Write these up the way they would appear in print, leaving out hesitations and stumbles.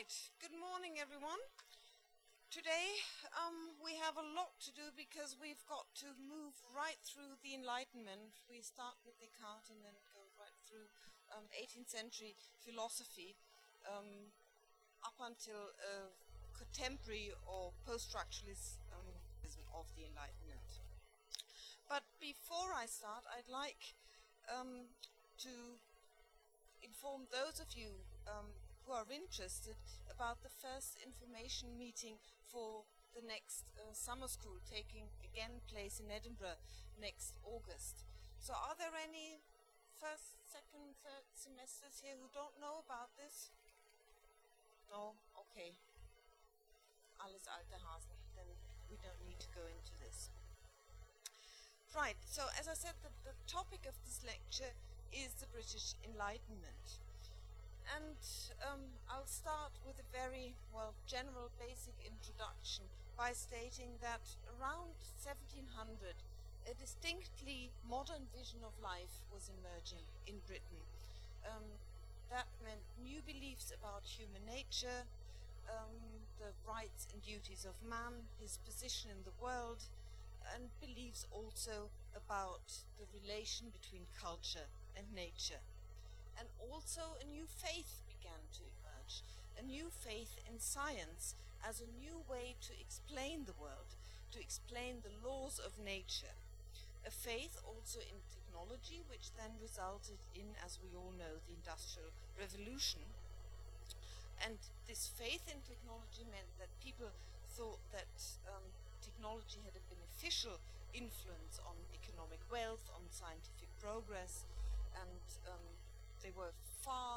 Right, good morning everyone. Today we have a lot to do because we've got to move right through the Enlightenment. We start with Descartes and then go right through 18th century philosophy up until contemporary or post-structuralism of the Enlightenment. But before I start, I'd like to inform those of you who are interested about the first information meeting for the next summer school taking again place in Edinburgh next August. So are there any first, second, third semesters here who don't know about this? No? Okay. Alles alte Hasen. Then we don't need to go into this. Right, so as I said, the topic of this lecture is the British Enlightenment. And I'll start with a very, general basic introduction by stating that around 1700, a distinctly modern vision of life was emerging in Britain. That meant new beliefs about human nature, the rights and duties of man, his position in the world, and beliefs also about the relation between culture and nature. And also a new faith began to emerge, a new faith in science as a new way to explain the world, to explain the laws of nature. A faith also in technology, which then resulted in, as we all know, the Industrial Revolution. And this faith in technology meant that people thought that technology had a beneficial influence on economic wealth, on scientific progress, and they were far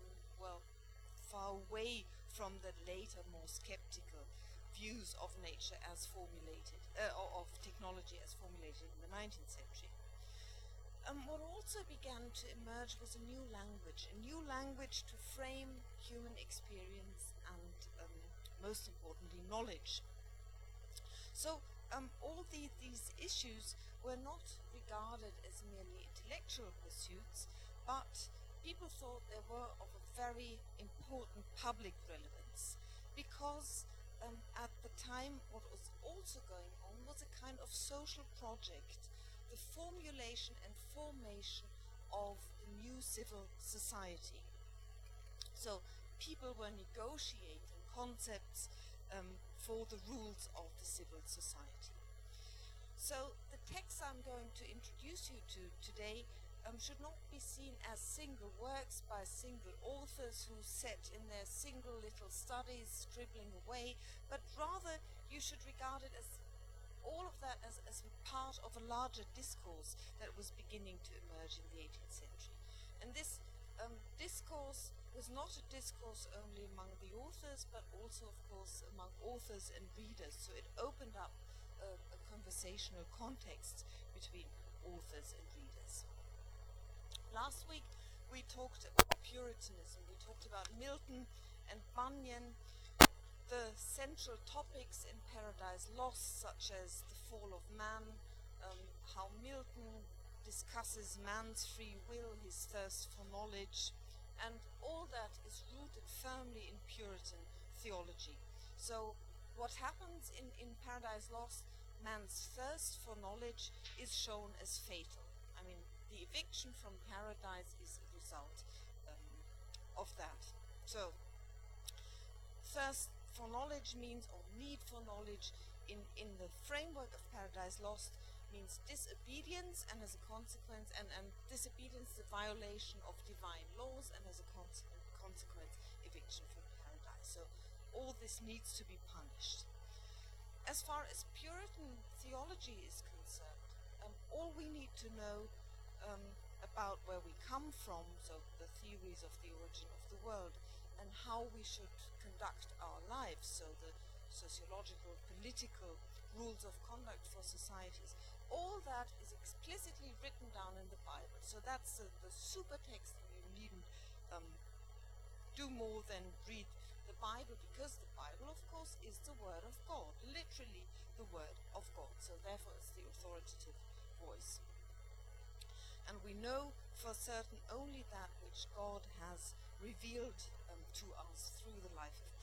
away from the later, more skeptical views of nature as formulated, of technology as formulated in the 19th century. What also began to emerge was a new language to frame human experience and, most importantly, knowledge. So all these issues were not regarded as merely intellectual pursuits, but people thought they were of a very important public relevance, because at the time what was also going on was a kind of social project, the formulation and formation of the new civil society. So people were negotiating concepts for the rules of the civil society. So the texts I'm going to introduce you to today should not be seen as single works by single authors who sat in their single little studies scribbling away, but rather you should regard it as all of that as a part of a larger discourse that was beginning to emerge in the 18th century. And this discourse was not a discourse only among the authors, but also, of course, among authors and readers. So it opened up a conversational context between authors and readers. Last week we talked about Puritanism, we talked about Milton and Bunyan, the central topics in Paradise Lost, such as the fall of man, how Milton discusses man's free will, his thirst for knowledge, and all that is rooted firmly in Puritan theology. So what happens in Paradise Lost, man's thirst for knowledge is shown as fatal. I mean, the eviction from paradise is a result of that. So, thirst for knowledge means, or need for knowledge, in the framework of Paradise Lost, means disobedience, and as a consequence, and disobedience, the violation of divine laws, and as a consequence, eviction from paradise. So, all this needs to be punished. As far as Puritan theology is concerned, all we need to know about where we come from, so the theories of the origin of the world, and how we should conduct our lives, so the sociological, political rules of conduct for societies, all that is explicitly written down in the Bible. So that's the super text, and you needn't do more than read the Bible, because the Bible, of course, is the Word of God, literally the Word of God. So therefore it's the authoritative voice. And we know for certain only that which God has revealed to us through the life of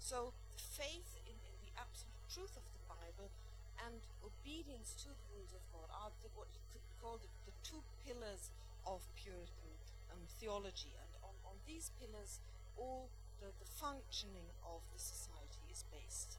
So faith in the absolute truth of the Bible and obedience to the rules of God are what you could call the two pillars of Puritan theology. And on these pillars, all the functioning of the society is based.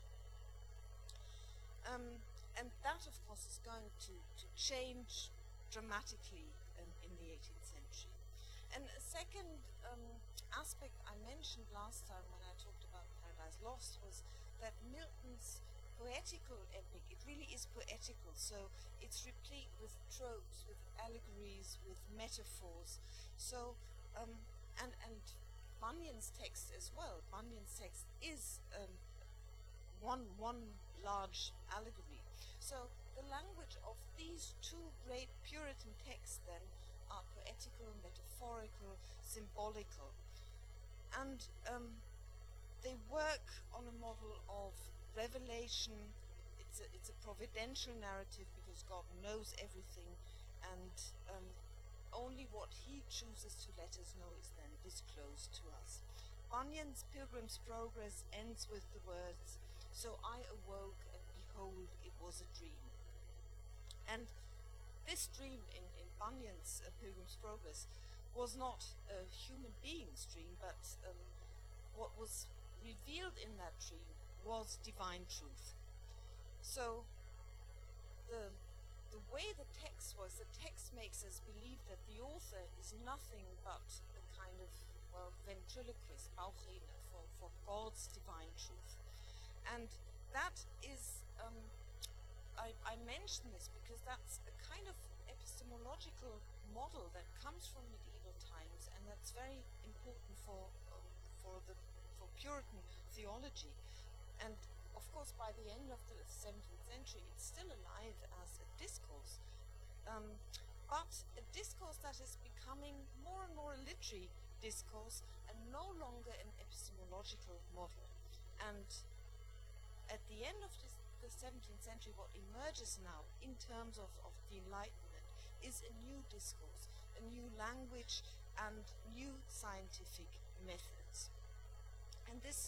And that, of course, is going to change dramatically in the 18th century. And a second aspect I mentioned last time when I talked about Paradise Lost was that Milton's poetical epic, it really is poetical, so it's replete with tropes, with allegories, with metaphors. So, and Bunyan's text as well. Bunyan's text is one large allegory. So the language of these two great Puritan texts then are poetical, metaphorical, symbolical. And they work on a model of revelation. It's a providential narrative because God knows everything, and only what he chooses to let us know is then disclosed to us. Bunyan's Pilgrim's Progress ends with the words, "So I awoke, and behold, it was a dream." And this dream in Bunyan's Pilgrim's Progress was not a human being's dream, but what was revealed in that dream was divine truth. So the way the text was, the text makes us believe that the author is nothing but a kind of, well, ventriloquist, Bauchredner, for God's divine truth. And that is, I mention this because that's a kind of epistemological model that comes from medieval times, and that's very important for Puritan theology. And of course, by the end of the 17th century, it's still alive as a discourse, but a discourse that is becoming more and more a literary discourse and no longer an epistemological model. And at the end of the 17th century, what emerges now in terms of the Enlightenment is a new discourse, a new language, and new scientific methods. And this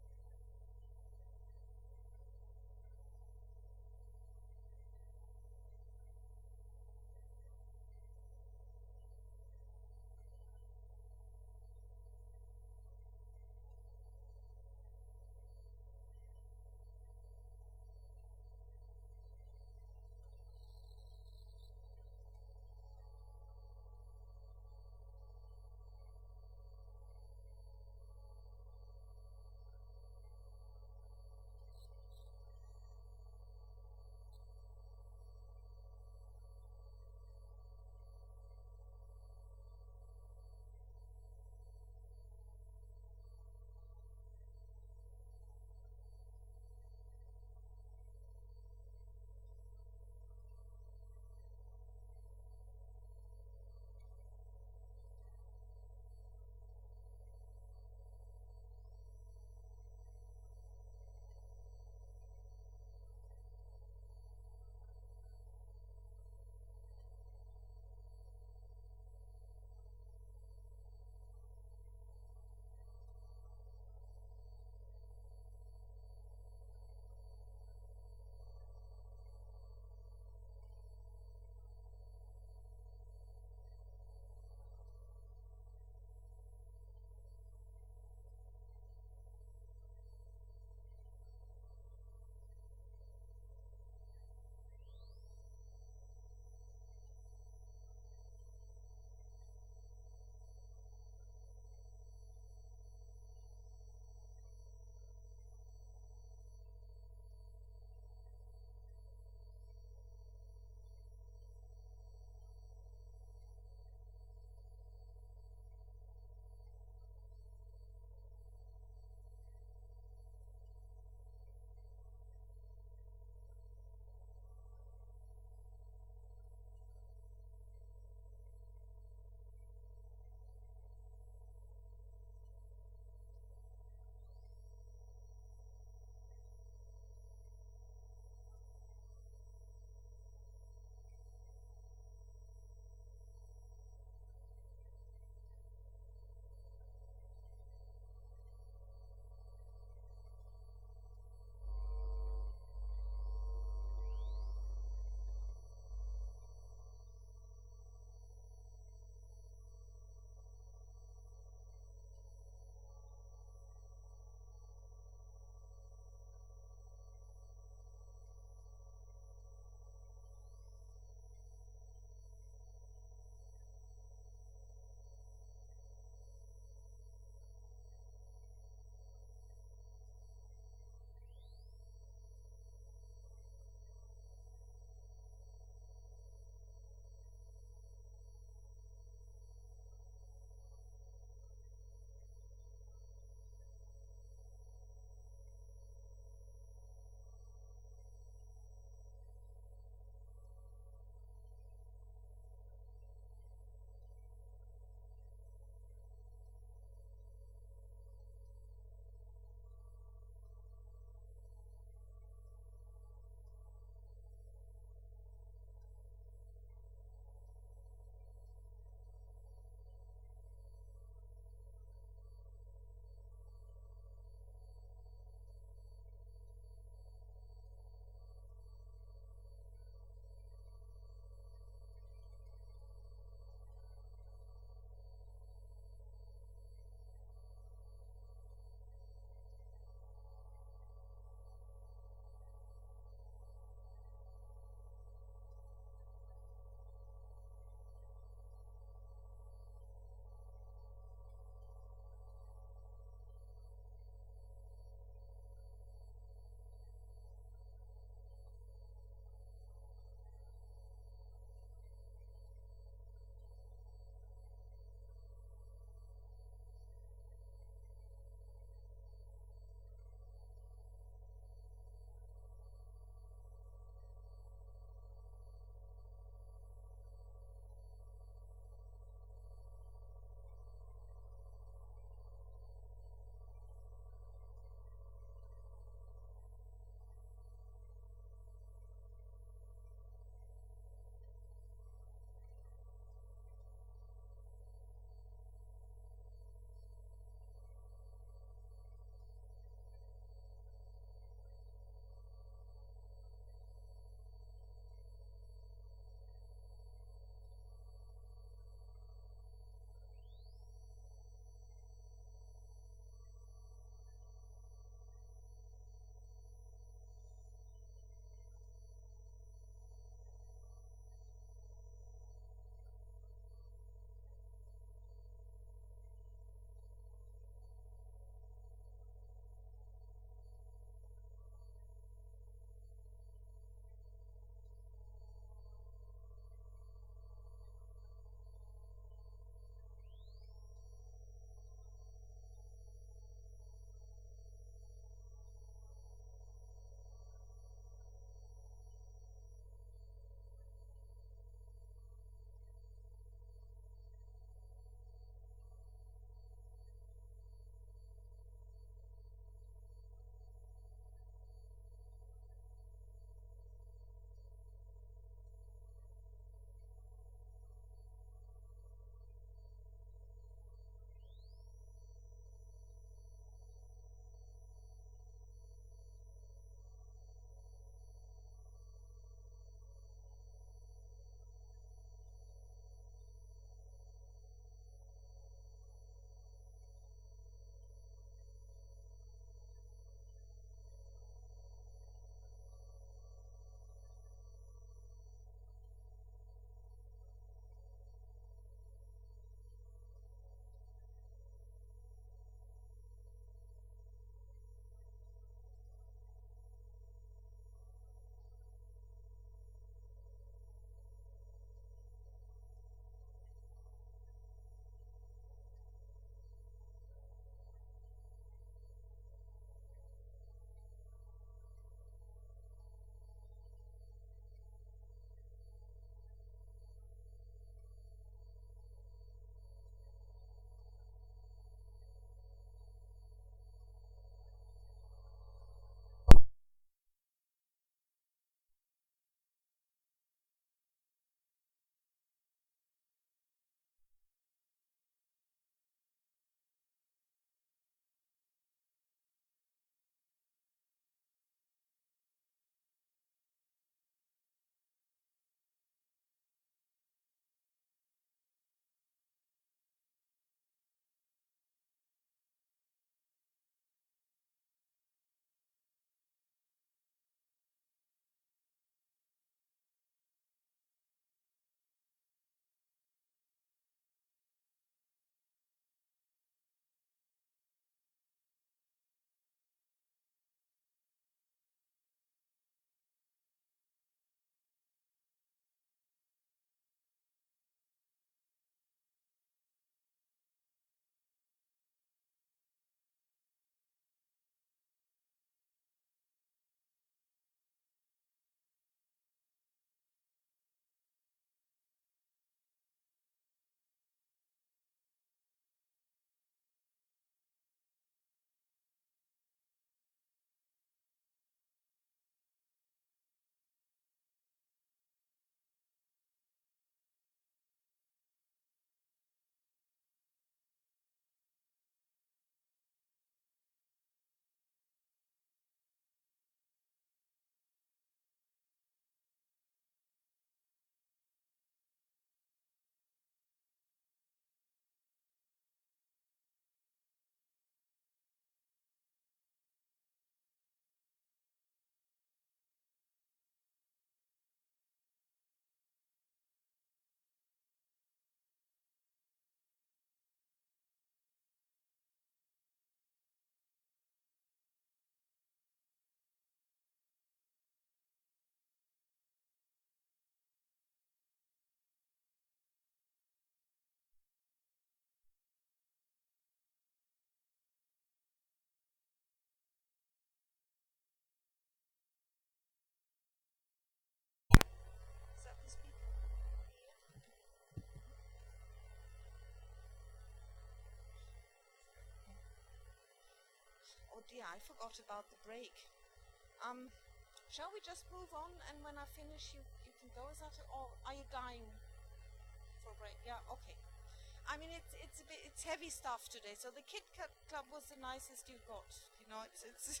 dear, I forgot about the break. Shall we just move on, and when I finish, you can go? Is that it? Or are you dying for a break? Yeah, okay. I mean, it's heavy stuff today. So the Kit Kat Club was the nicest you got. You know, it's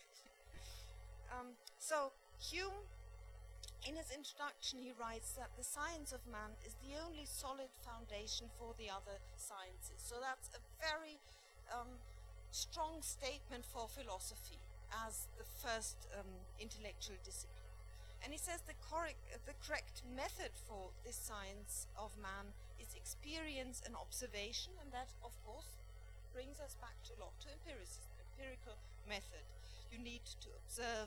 so Hume, in his introduction, he writes that the science of man is the only solid foundation for the other sciences. So that's a very strong statement for philosophy as the first intellectual discipline. And he says the correct method for this science of man is experience and observation, and that, of course, brings us back to empiricism, empirical method. You need to observe,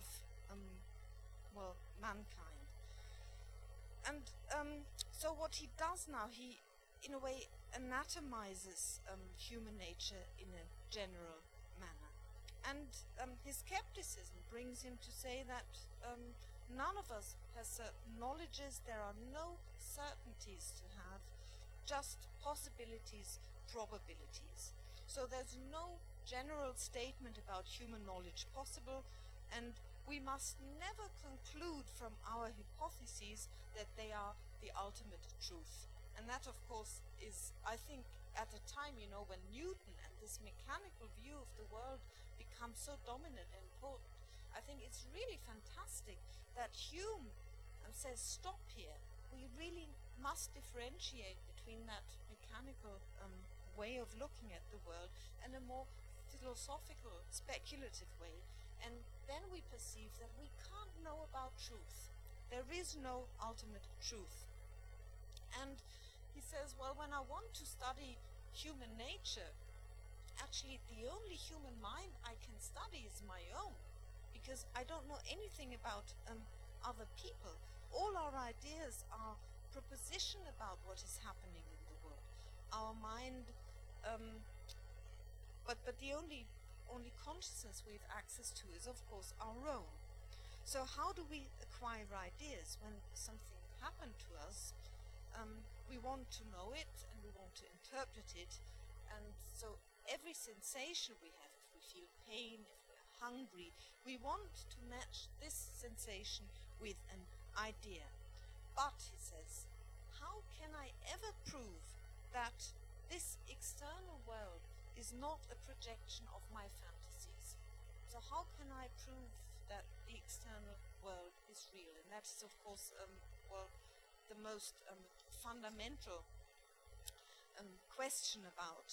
mankind. And so what he does now, he, in a way, anatomizes human nature in a general manner. And his skepticism brings him to say that none of us has certain knowledges, there are no certainties to have, just possibilities, probabilities. So there's no general statement about human knowledge possible, and we must never conclude from our hypotheses that they are the ultimate truth. And that, of course, is, I think, at a time, you know, when Newton and this mechanical view of the world becomes so dominant and important, I think it's really fantastic that Hume says, stop here. We really must differentiate between that mechanical way of looking at the world and a more philosophical, speculative way. And then we perceive that we can't know about truth. There is no ultimate truth. And he says, well, when I want to study human nature, actually the only human mind I can study is my own, because I don't know anything about other people. All our ideas are proposition about what is happening in the world. Our mind, but the only consciousness we have access to is, of course, our own. So how do we acquire ideas when something happened to us? We want to know it and we want to interpret it, and so every sensation we have, if we feel pain, if we're hungry, we want to match this sensation with an idea. But, he says, how can I ever prove that this external world is not a projection of my fantasies? So how can I prove that the external world is real? And that is, of course, the most fundamental question about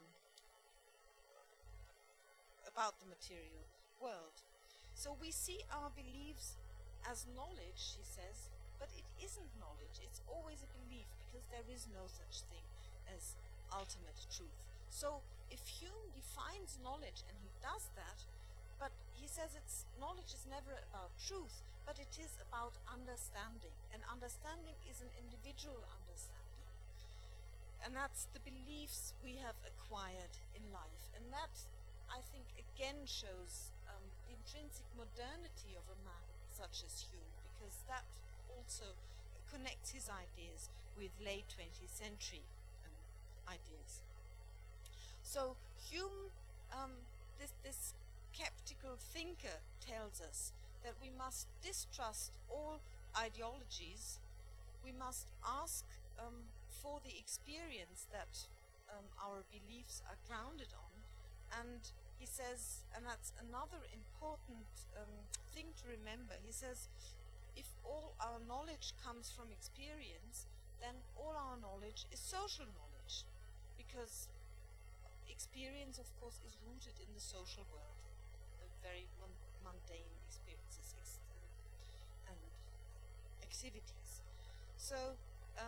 the material world. So we see our beliefs as knowledge, he says, but it isn't knowledge. It's always a belief, because there is no such thing as ultimate truth. So if Hume defines knowledge, and he does that, but he says knowledge is never about truth, but it is about understanding. And understanding is an individual understanding. And that's the beliefs we have acquired in life. And that, I think, again shows the intrinsic modernity of a man such as Hume, because that also connects his ideas with late 20th century ideas. So Hume, this skeptical thinker, tells us that we must distrust all ideologies. We must ask for the experience that our beliefs are grounded on. And he says, and that's another important thing to remember, he says, if all our knowledge comes from experience, then all our knowledge is social knowledge, because experience, of course, is rooted in the social world, the very mundane experiences and activities. So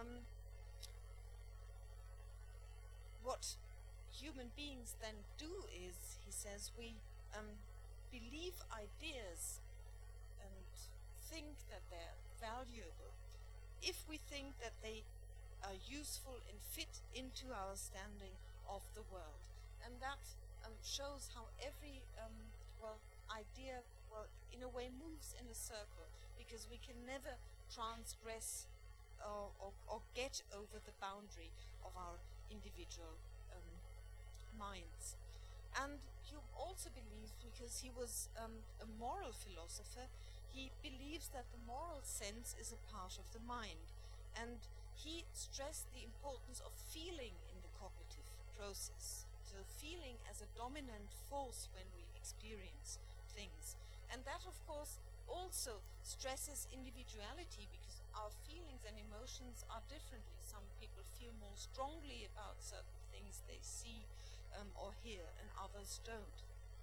what human beings then do is, he says, we believe ideas and think that they're valuable if we think that they are useful and fit into our standing of the world. And that shows how every idea, in a way, moves in a circle, because we can never transgress or get over the boundary of our individual minds. And Hume also believes, because he was a moral philosopher, he believes that the moral sense is a part of the mind. And he stressed the importance of feeling in the cognitive process. So feeling as a dominant force when we experience things. And that, of course, also stresses individuality, because our feelings and emotions are differently. Some people feel more strongly about certain things they see or hear, and others don't.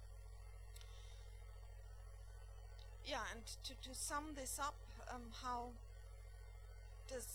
Yeah, and to sum this up, how does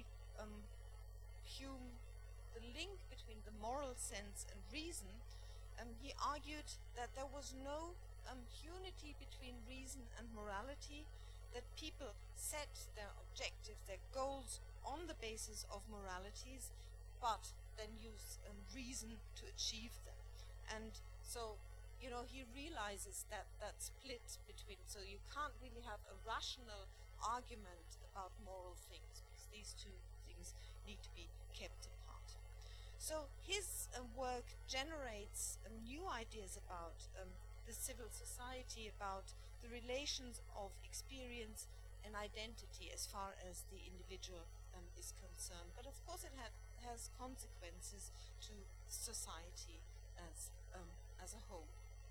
Hume the link between the moral sense and reason? He argued that there was no unity between reason and morality, that people set their objectives, their goals on the basis of moralities, but then use reason to achieve them. And so, he realizes that split between, so you can't really have a rational argument about moral things, because these two things need to be kept apart. So his work generates new ideas about the civil society, about the relations of experience and identity as far as the individual is concerned. But of course it has consequences to society as a whole.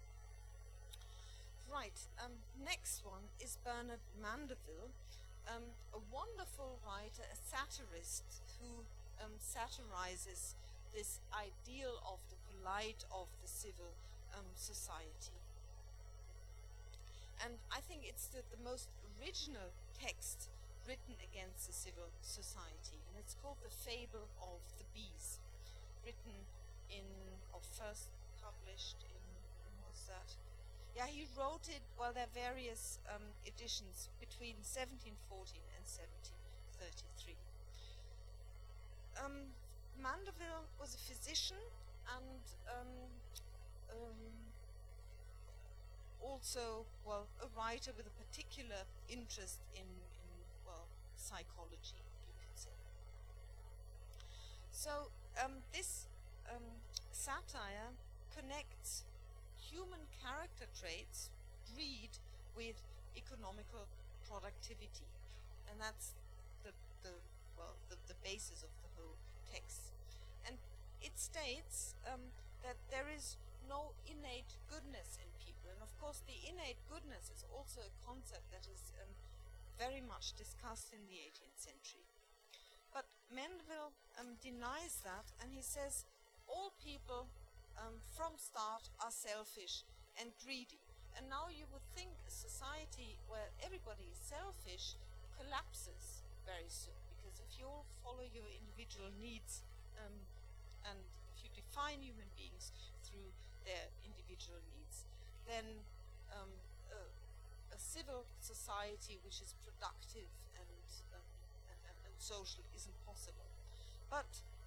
Right, next one is Bernard Mandeville, a wonderful writer, a satirist who satirizes this ideal of the polite, of the civil society. And I think it's the most original text written against the civil society, and it's called The Fable of the Bees, written first published in, when was that? Yeah, he wrote it, well, there are various editions between 1714 and 1733. Mandeville was a physician and also, well, a writer with a particular interest in psychology, you could say. So this satire connects human character traits, greed, with economical productivity, and that's the basis of the whole text. And it states that there is no innate goodness in people, and of course the innate goodness is also a concept that is very much discussed in the 18th century. But Mandeville denies that, and he says all people from start are selfish and greedy. And now you would think a society where everybody is selfish collapses very soon, because if you all follow your individual needs and if you define human beings through their individual needs, then a civil society which is productive and social isn't possible. But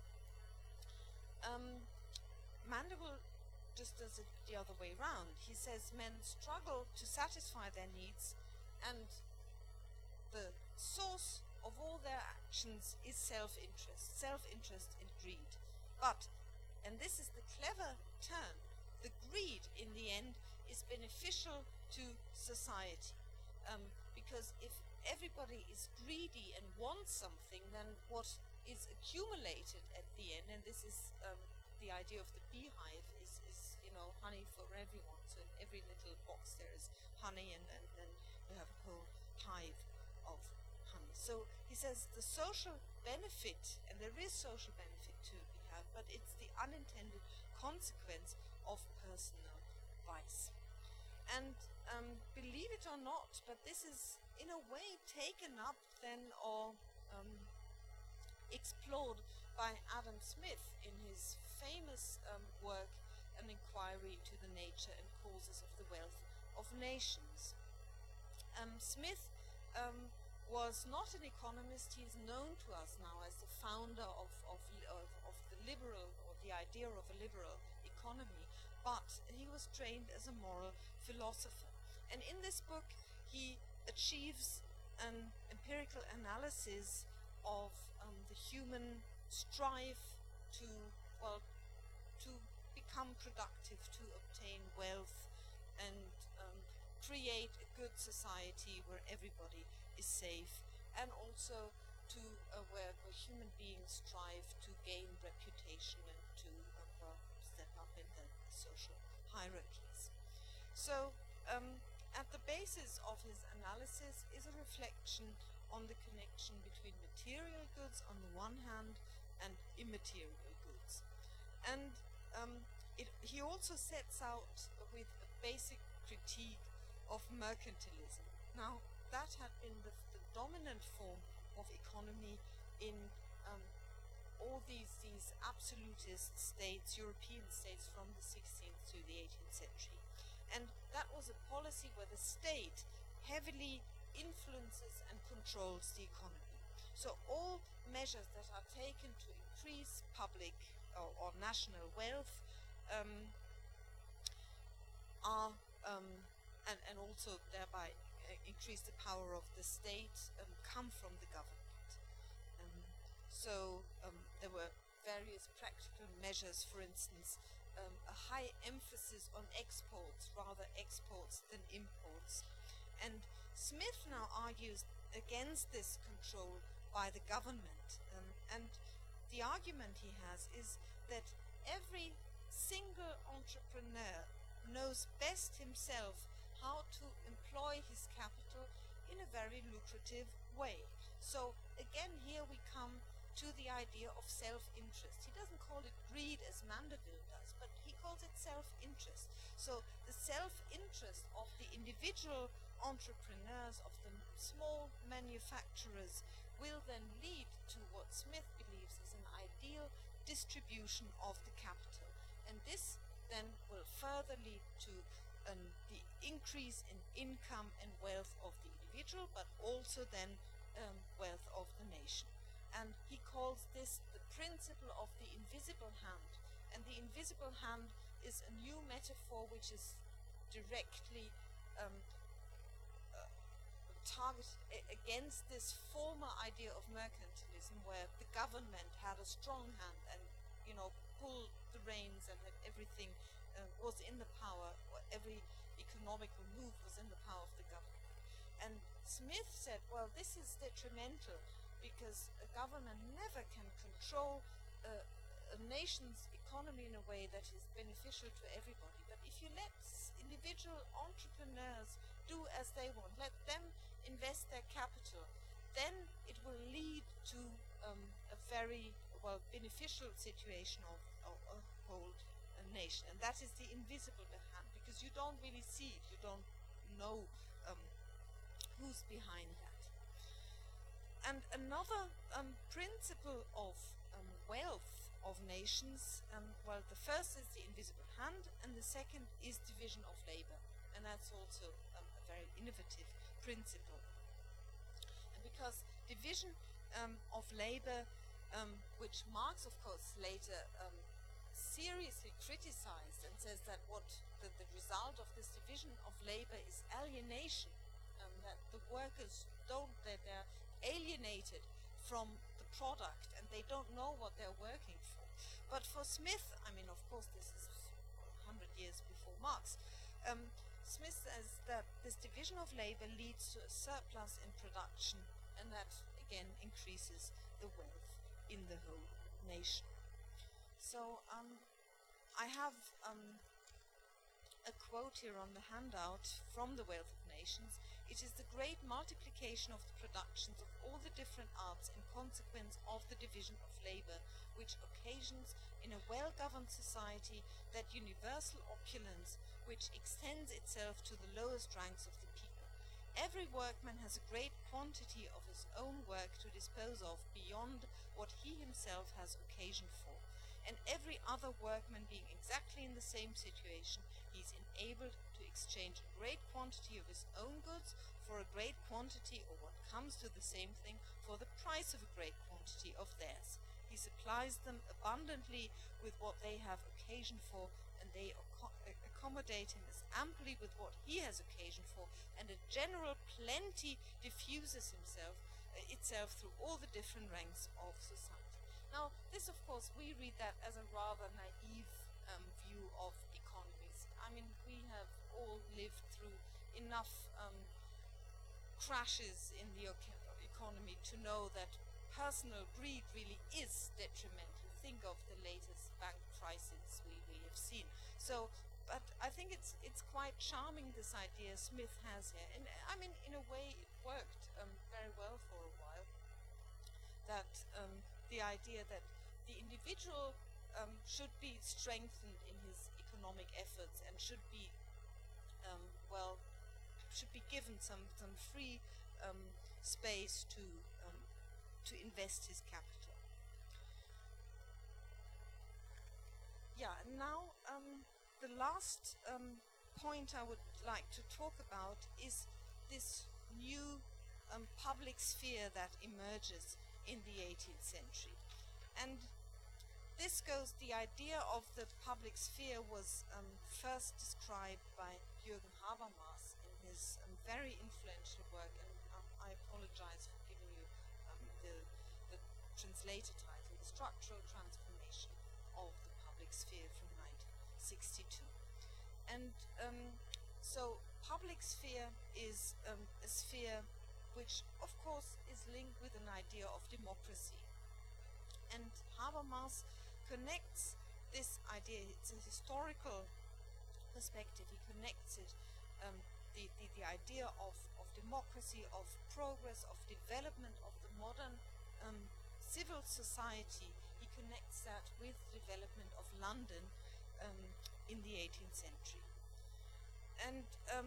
Mandeville just does it the other way round. He says men struggle to satisfy their needs, and the source of all their actions is self-interest and greed. But, and this is the clever turn, the greed in the end is beneficial to society. Because if everybody is greedy and wants something, then what is accumulated at the end, and this is the idea of the beehive, is honey for everyone. So in every little box there is honey, and then you have a whole hive of honey. So he says the social benefit, and there is social benefit to be had, but it's the unintended consequence of personal vice. And believe it or not, but this is in a way taken up then or explored by Adam Smith in his famous work, An Inquiry into the Nature and Causes of the Wealth of Nations. Smith was not an economist. He is known to us now as the founder of the liberal, or the idea of a liberal economy, but he was trained as a moral philosopher. And in this book he achieves an empirical analysis of the human strive to become productive to obtain wealth and create a good society where everybody is safe, and also to where human beings strive to gain reputation and to step up in the social hierarchies. So at the basis of his analysis is a reflection on the connection between material goods on the one hand and immaterial goods. And he also sets out with a basic critique of mercantilism. Now, that had been the dominant form of economy in all these absolutist states, European states from the 16th to the 18th century. And that was a policy where the state heavily influences and controls the economy. So all measures that are taken to increase public or national wealth are and also thereby increase the power of the state come from the government. There were various practical measures, for instance, a high emphasis on exports, rather exports than imports. And Smith now argues against this control by the government. And the argument he has is that every single entrepreneur knows best himself how to employ his capital in a very lucrative way. So again, here we come to the idea of self-interest. He doesn't call it greed as Mandeville does, but he calls it self-interest. So the self-interest of the individual entrepreneurs, of the small manufacturers, will then lead to what Smith believes is an ideal distribution of the capital. And this then will further lead to the increase in income and wealth of the individual, but also then wealth of the nation. And he calls this the principle of the invisible hand. And the invisible hand is a new metaphor which is directly targeted against this former idea of mercantilism, where the government had a strong hand and, pulled the reins and that everything was in the power, or every economical move was in the power of the government. And Smith said, well, this is detrimental because a government never can control a nation's economy in a way that is beneficial to everybody. But if you let individual entrepreneurs do as they want, let them invest their capital, then it will lead to a very beneficial situation of a whole nation. And that is the invisible hand, because you don't really see it, you don't know who's behind that. And another principle of wealth of nations, the first is the invisible hand, and the second is division of labor. And that's also a very innovative principle. And because division of labor, which Marx, of course, later seriously criticized and says that the result of this division of labor is alienation, that the workers they're alienated from the product and they don't know what they're working for. But for Smith, of course, this is 100 years before Marx, Smith says that this division of labor leads to a surplus in production, and that again increases the wealth in the whole nation. So I have a quote here on the handout from The Wealth of Nations. It is the great multiplication of the productions of all the different arts in consequence of the division of labor, which occasions in a well-governed society that universal opulence which extends itself to the lowest ranks of the people. Every workman has a great quantity of his own work to dispose of beyond what he himself has occasion for. And every other workman being exactly in the same situation, he is enabled to exchange a great quantity of his own goods for a great quantity, or what comes to the same thing, for the price of a great quantity of theirs. He supplies them abundantly with what they have occasion for, and they accommodate him as amply with what he has occasion for, and a general plenty diffuses itself through all the different ranks of society. Now, this, of course, we read that as a rather naive view of economies. I mean, we have all lived through enough crashes in the economy to know that personal greed really is detrimental. Think of the latest bank crisis we have seen. So, but I think it's quite charming, this idea Smith has here. And I mean, in a way, it worked very well for a while. That the idea that the individual should be strengthened in his economic efforts and should be, should be given some free space to invest his capital. Yeah, and now the last point I would like to talk about is this new public sphere that emerges in the 18th century. And this goes, the idea of the public sphere was first described by Jürgen Habermas in his very influential work, and I apologize for giving you the translator title, The Structural Transformation of the Public Sphere from 1962. And so public sphere is a sphere which of course is linked with an idea of democracy. And Habermas connects this idea, it's a historical perspective, he connects it, the idea of democracy, of progress, of development of the modern civil society, he connects that with development of London in the 18th century. And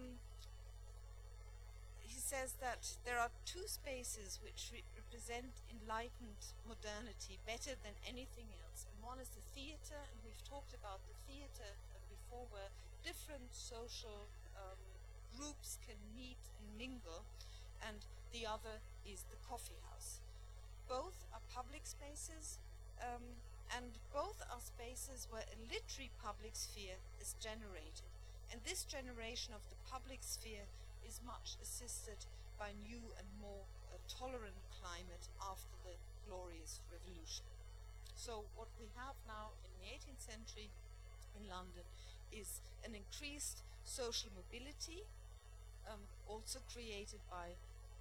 he says that there are two spaces which represent enlightened modernity better than anything else. And one is the theatre, and we've talked about the theatre before, where different social groups can meet and mingle, and the other is the coffee house. Both are public spaces, and both are spaces where a literary public sphere is generated. And this generation of the public sphere is much assisted by new and more tolerant climate after the Glorious Revolution. So what we have now in the 18th century in London is an increased social mobility, also created by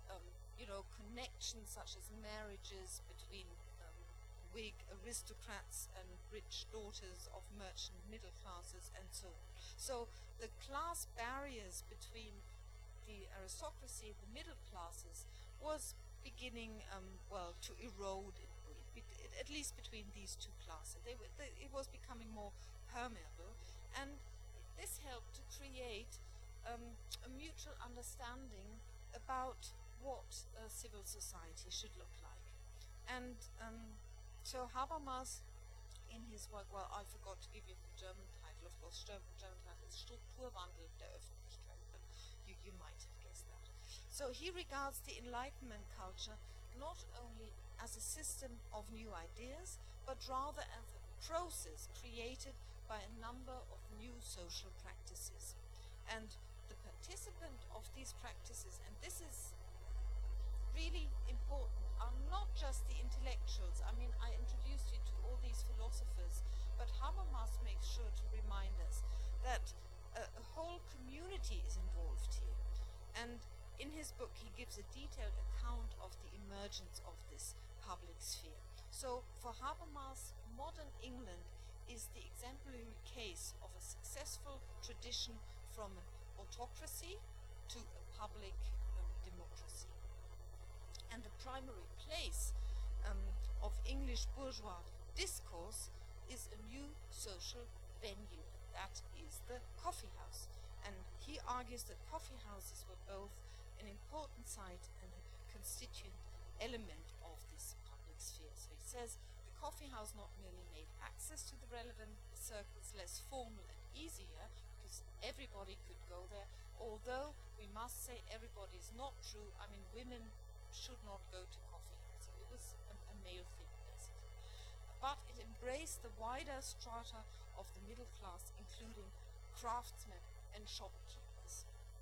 connections such as marriages between Whig aristocrats and rich daughters of merchant middle classes and so on. So the class barriers between the aristocracy and the middle classes was beginning to erode, at least between these two classes. It was becoming more permeable, and this helped to create a mutual understanding about what civil society should look like. And so Habermas, in his work, well, I forgot to give you the German title, of course, German title is Strukturwandel der Öffentlichkeit, but you might have guessed that. So he regards the Enlightenment culture not only as a system of new ideas, but rather as a process created by a number of new social practices. And the participant of these practices, and this is really important, are not just the intellectuals. I mean, I introduced you to all these philosophers, but Habermas makes sure to remind us that a whole community is involved here. And in his book, he gives a detailed account of the emergence of this public sphere. So for Habermas, modern England is the exemplary case of a successful tradition from an autocracy to a public democracy. And the primary place of English bourgeois discourse is a new social venue. That is the coffee house. And he argues that coffee houses were both an important site and a constituent element of this public sphere. So he says the coffee house not merely made access to the relevant circles less formal and easier, because everybody could go there, although we must say everybody is not true. I mean, women should not go to coffee houses. It was a male thing, basically. But it embraced the wider strata of the middle class, including craftsmen and shopkeepers.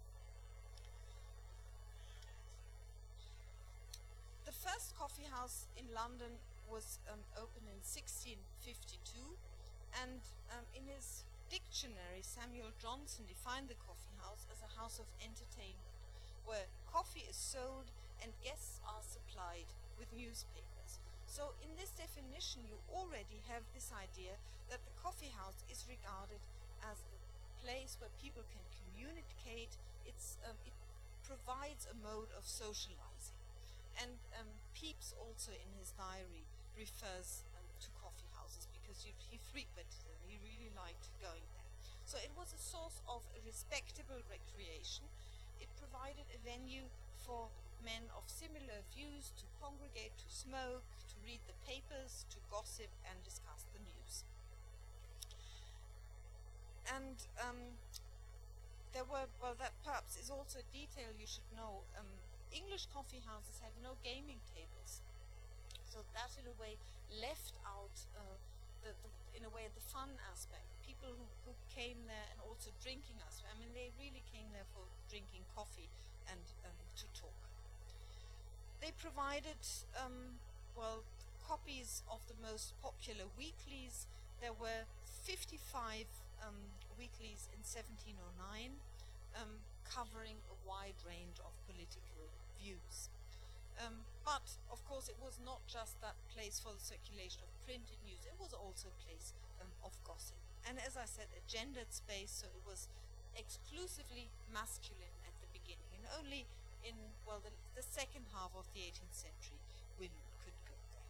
The first coffee house in London was opened in 1652, And in his dictionary, Samuel Johnson defined the coffee house as a house of entertainment, where coffee is sold and guests are supplied with newspapers. So in this definition, you already have this idea that the coffee house is regarded as a place where people can communicate. It provides a mode of socializing. And Pepys also in his diary refers to coffee houses because he frequented them. He really liked going there. So it was a source of a respectable recreation. It provided a venue for men of similar views to congregate, to smoke, to read the papers, to gossip and discuss the news. And there were, well, that perhaps is also a detail you should know. English coffee houses had no gaming tables, so that in a way left out the fun aspect. People who came there and also drinking aspect. I mean, they really came there for drinking coffee and to talk. They provided copies of the most popular weeklies. There were 55 weeklies in 1709, covering a wide range of political views. But, of course, it was not just that place for the circulation of printed news, it was also a place of gossip. And as I said, a gendered space, so it was exclusively masculine at the beginning. And only in, well, the second half of the 18th century, women could go there.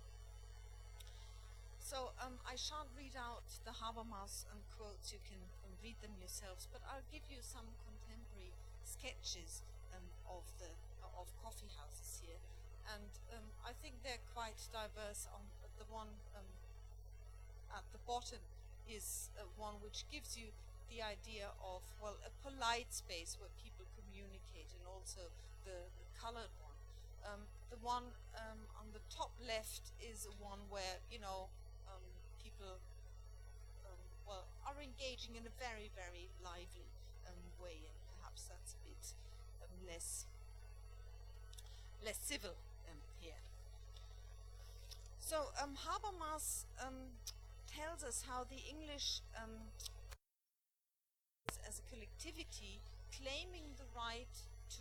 So I shan't read out the Habermas quotes, you can read them yourselves, but I'll give you some contemporary sketches of coffee houses here. And I think they're quite diverse. On the one at the bottom is one which gives you the idea of, well, a polite space where people communicate, and also the colored one. The one on the top left is one where, you know, people are engaging in a very, very lively way, and perhaps that's a bit less civil here. So Habermas tells us how the English as a collectivity claiming the right to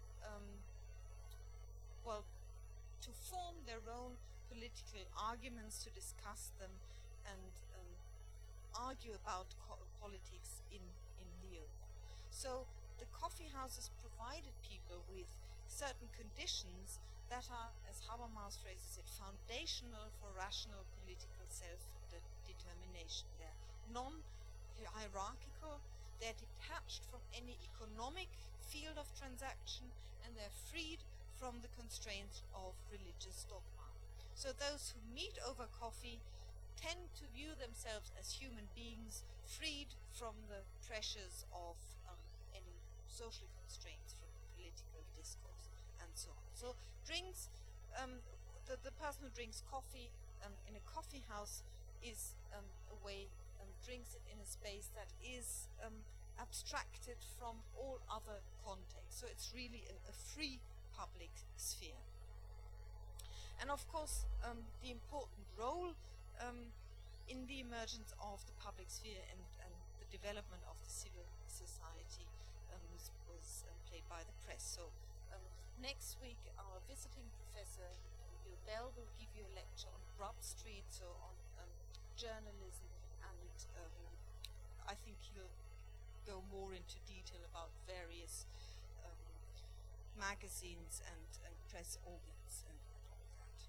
to form their own political arguments, to discuss them, and argue about politics in the open. So the coffee houses provided people with certain conditions that are, as Habermas phrases it, foundational for rational political self-determination. They're non-hierarchical, they're detached from any economic field of transaction, and they're freed from the constraints of religious dogma. So those who meet over coffee tend to view themselves as human beings freed from the pressures of any social constraints from political discourse and so on. So drinks, the person who drinks coffee in a coffee house is a way, drinks it in a space that is abstracted from all other contexts. So it's really a free public sphere. And of course, the important role in the emergence of the public sphere and the development of the civil society was played by the press. So next week, our visiting professor, Bill Bell, will give you a lecture on Grub Street, so on journalism, and I think he'll go more into detail about various magazines and press organs and all that.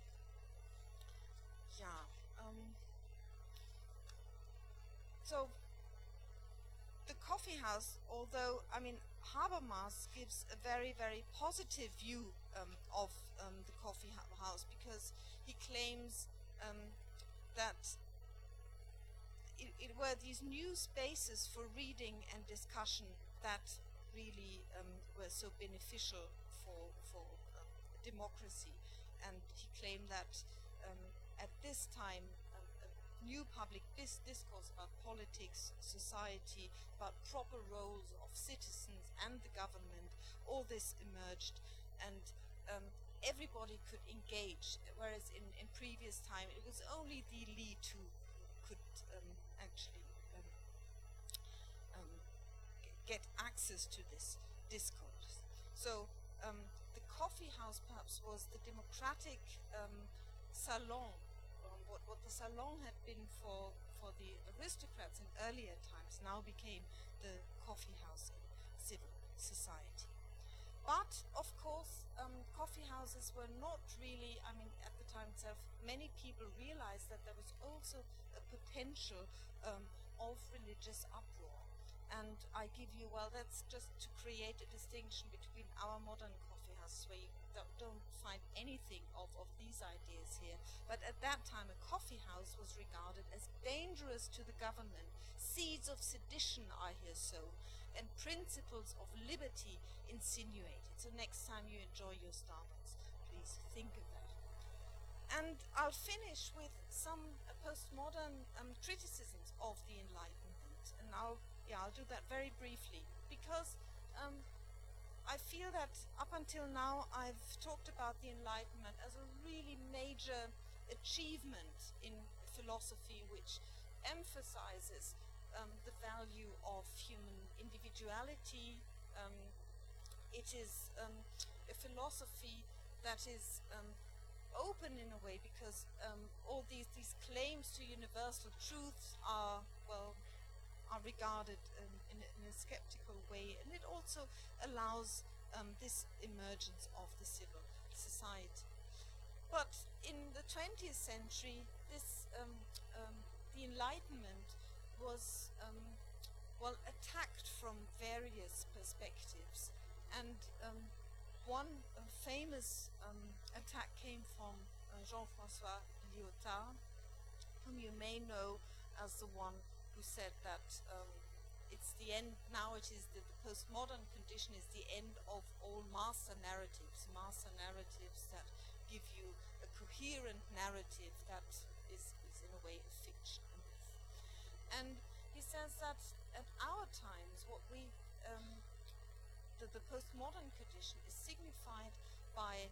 Yeah. So the coffee house, although, I mean, Habermas gives a very, very positive view of the coffee house, because he claims that it were these new spaces for reading and discussion that really were so beneficial for democracy. And he claimed that at this time new public discourse about politics, society, about proper roles of citizens and the government, all this emerged, and everybody could engage, whereas in previous time it was only the elite who could actually get access to this discourse. So the coffee house perhaps was the democratic salon, what the salon had been for the aristocrats in earlier times now became the coffee house in civil society. But, of course, coffee houses were not really, I mean, at the time itself, many people realized that there was also a potential of religious uproar. And I give you, well, that's just to create a distinction between our modern coffee houses, where you don't find anything of these ideas here. But at that time, a coffee house was regarded as dangerous to the government. Seeds of sedition are here sown, and principles of liberty insinuated. So next time you enjoy your Starbucks, please think of that. And I'll finish with some postmodern criticisms of the Enlightenment. And I'll do that very briefly, because I feel that up until now I've talked about the Enlightenment as a really major achievement in philosophy, which emphasizes the value of human individuality. It is a philosophy that is open in a way, because all these claims to universal truths are regarded in a skeptical way, and it also allows this emergence of the civil society. But in the 20th century, the Enlightenment was attacked from various perspectives, and one famous attack came from Jean-François Lyotard, whom you may know as the one who said that it's the end, now it is the postmodern condition is the end of all master narratives that give you a coherent narrative that is in a way a fiction. And he says that at our times, what we the postmodern condition is signified by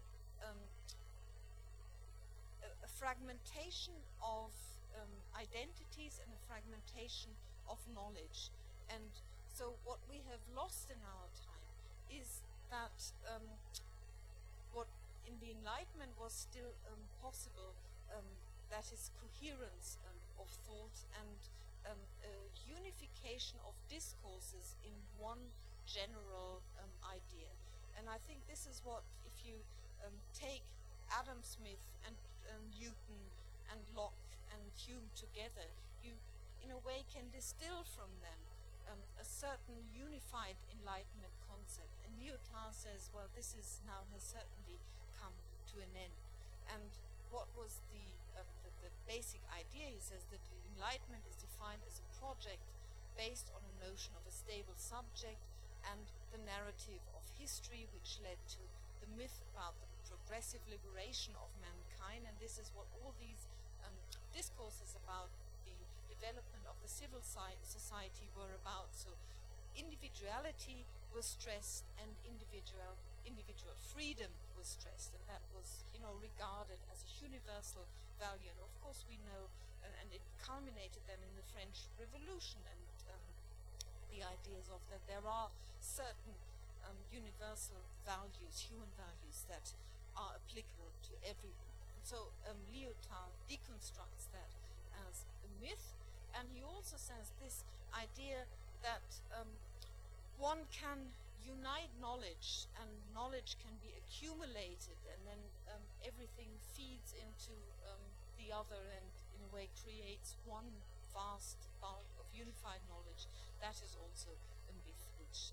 a fragmentation of identities and a fragmentation of knowledge. And so what we have lost in our time is that what in the Enlightenment was still possible, that is coherence of thought and a unification of discourses in one general idea. And I think this is what, if you take Adam Smith and Newton and Locke and Hume together, you in a way can distill from them a certain unified Enlightenment concept. And Lyotard says, well, this is now has certainly come to an end. And what was the basic idea? He says that the Enlightenment is defined as a project based on a notion of a stable subject and the narrative of history, which led to the myth about the progressive liberation of mankind. And this is what all these discourses about the development of the civil society were about. So individuality was stressed and individual freedom was stressed, and that was regarded as a universal value. And of course we know, and it culminated then in the French Revolution, and the ideas of that there are certain universal values, human values, that are applicable to everyone. And so Lyotard deconstructs that as a myth, and he also says this idea that one can unite knowledge, and knowledge can be accumulated, and then everything feeds into the other, and in a way creates one vast bulk of unified knowledge. That is also a myth, which,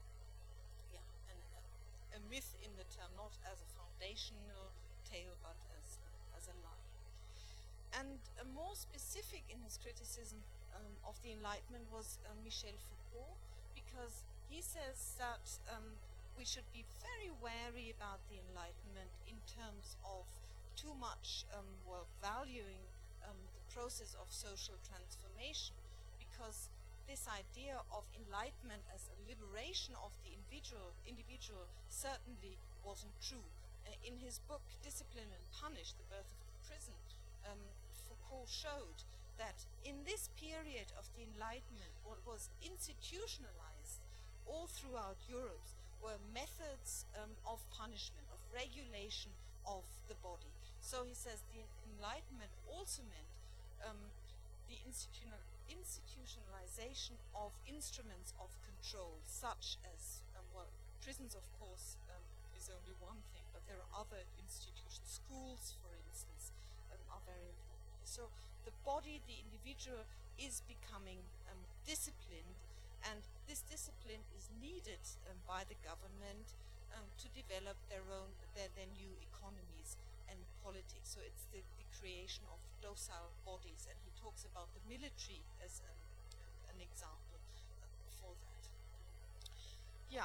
a myth in the term, not as a foundational tale, but as a lie. And more specific in his criticism of the Enlightenment was Michel Foucault, because he says that we should be very wary about the Enlightenment in terms of too much valuing the process of social transformation, because this idea of enlightenment as a liberation of the individual certainly wasn't true. In his book Discipline and Punish, The Birth of the Prison, Foucault showed that in this period of the Enlightenment, what was institutionalized all throughout Europe were methods of punishment, of regulation of the body. So he says the Enlightenment also meant the institutionalization of instruments of control, such as, well, prisons, of course, is only one thing, but there are other institutions. Schools, for instance, are very important. So the body, the individual, is becoming disciplined, and this discipline is needed by the government to develop their new economies and politics. So it's the creation of docile bodies, and he talks about the military as an example for that. Yeah.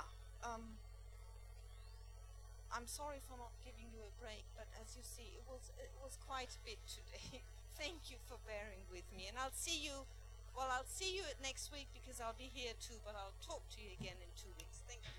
I'm sorry for not giving you a break, but as you see, it was quite a bit today. Thank you for bearing with me, and I'll see you next week, because I'll be here too, but I'll talk to you again in 2 weeks. Thank you.